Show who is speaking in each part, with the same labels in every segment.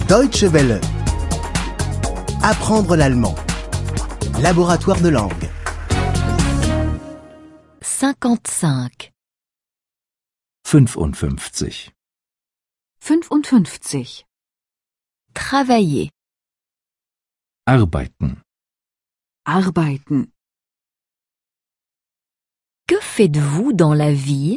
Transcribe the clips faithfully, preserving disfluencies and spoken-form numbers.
Speaker 1: Deutsche Welle. Apprendre l'allemand. Laboratoire de langue.
Speaker 2: cinquante-cinq.
Speaker 3: fünfundfünfzig.
Speaker 4: fünfundfünfzig.
Speaker 2: Travailler.
Speaker 3: Arbeiten.
Speaker 4: Arbeiten.
Speaker 2: Que faites-vous dans la vie?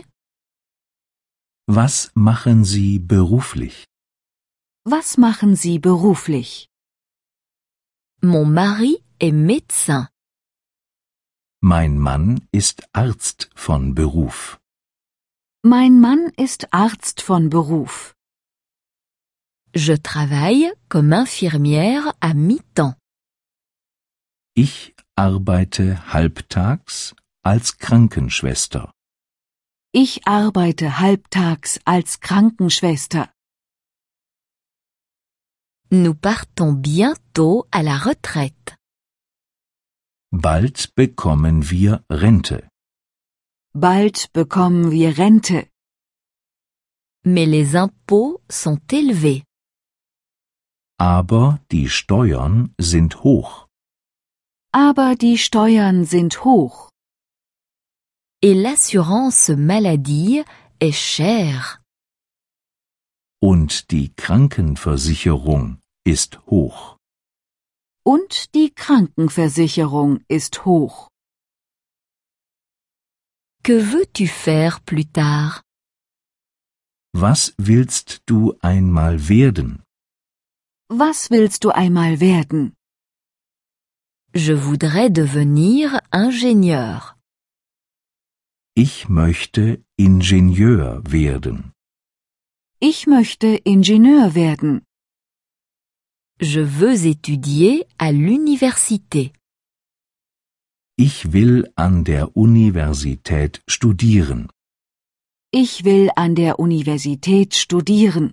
Speaker 3: Was machen Sie beruflich?
Speaker 4: Was machen Sie beruflich?
Speaker 2: Mon mari est médecin.
Speaker 3: Mein Mann ist Arzt von Beruf.
Speaker 4: Mein Mann ist Arzt von Beruf.
Speaker 2: Je travaille comme infirmière à mi-temps.
Speaker 3: Ich arbeite halbtags als Krankenschwester.
Speaker 4: Ich arbeite halbtags als Krankenschwester.
Speaker 2: Nous partons bientôt à la retraite.
Speaker 3: Bald bekommen wir Rente.
Speaker 4: Bald bekommen wir Rente.
Speaker 2: Mais les impôts sont élevés.
Speaker 3: Aber die Steuern sind hoch.
Speaker 4: Aber die Steuern sind hoch.
Speaker 2: Et l'assurance maladie est chère.
Speaker 3: Und die Krankenversicherung ist hoch.
Speaker 4: Und die Krankenversicherung ist hoch.
Speaker 2: Que veux-tu faire plus tard?
Speaker 3: Was willst du einmal werden?
Speaker 4: Was willst du einmal werden?
Speaker 2: Je voudrais devenir ingénieur.
Speaker 3: Ich möchte Ingenieur werden.
Speaker 4: Ich möchte Ingenieur werden.
Speaker 2: Je veux étudier à l'université.
Speaker 3: Ich will an der Universität studieren.
Speaker 4: Ich will an der Universität studieren.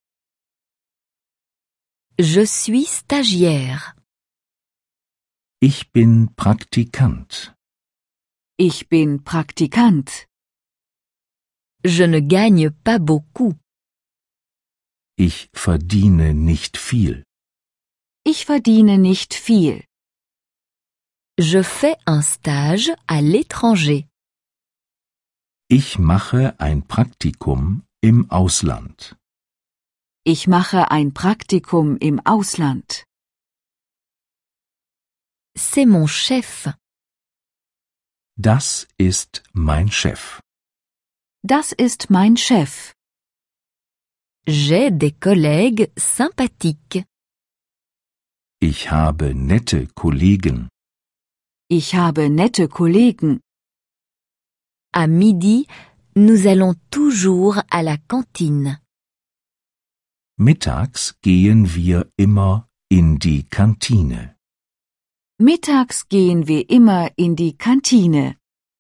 Speaker 2: Je suis stagiaire.
Speaker 3: Ich bin Praktikant.
Speaker 4: Ich bin Praktikant.
Speaker 2: Je ne gagne pas beaucoup.
Speaker 3: Ich verdiene nicht viel.
Speaker 4: Ich verdiene nicht viel.
Speaker 2: Je fais un stage à l'étranger.
Speaker 3: Ich mache ein Praktikum im Ausland.
Speaker 4: Ich mache ein Praktikum im Ausland.
Speaker 2: C'est mon chef.
Speaker 3: Das ist mein Chef.
Speaker 4: Das ist mein Chef.
Speaker 2: J'ai des collègues sympathiques.
Speaker 3: Ich habe nette Kollegen.
Speaker 4: Ich habe nette Kollegen.
Speaker 2: À midi, nous allons toujours à la cantine.
Speaker 3: Mittags gehen wir immer in die Kantine.
Speaker 4: Mittags gehen wir immer in die Kantine.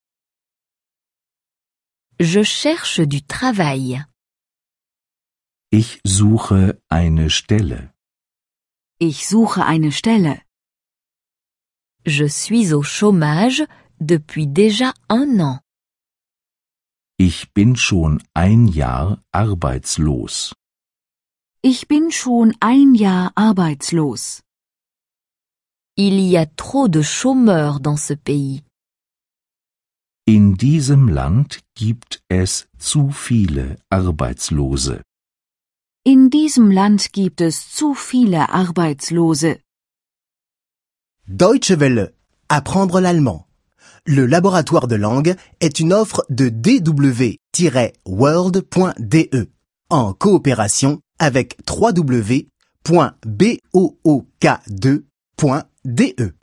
Speaker 2: Je cherche du travail.
Speaker 3: Ich suche eine Stelle.
Speaker 4: Ich suche eine Stelle.
Speaker 2: Je suis au chômage depuis déjà un an.
Speaker 3: Ich bin schon ein Jahr arbeitslos.
Speaker 4: Ich bin schon ein Jahr arbeitslos.
Speaker 2: Il y a trop de chômeurs dans ce pays.
Speaker 3: In diesem Land gibt es zu viele Arbeitslose.
Speaker 4: In diesem Land gibt es zu viele Arbeitslose.
Speaker 1: Deutsche Welle. Apprendre l'allemand. Le laboratoire de langue est une offre de d w tiret world point d e en coopération avec w w w point book deux point d e.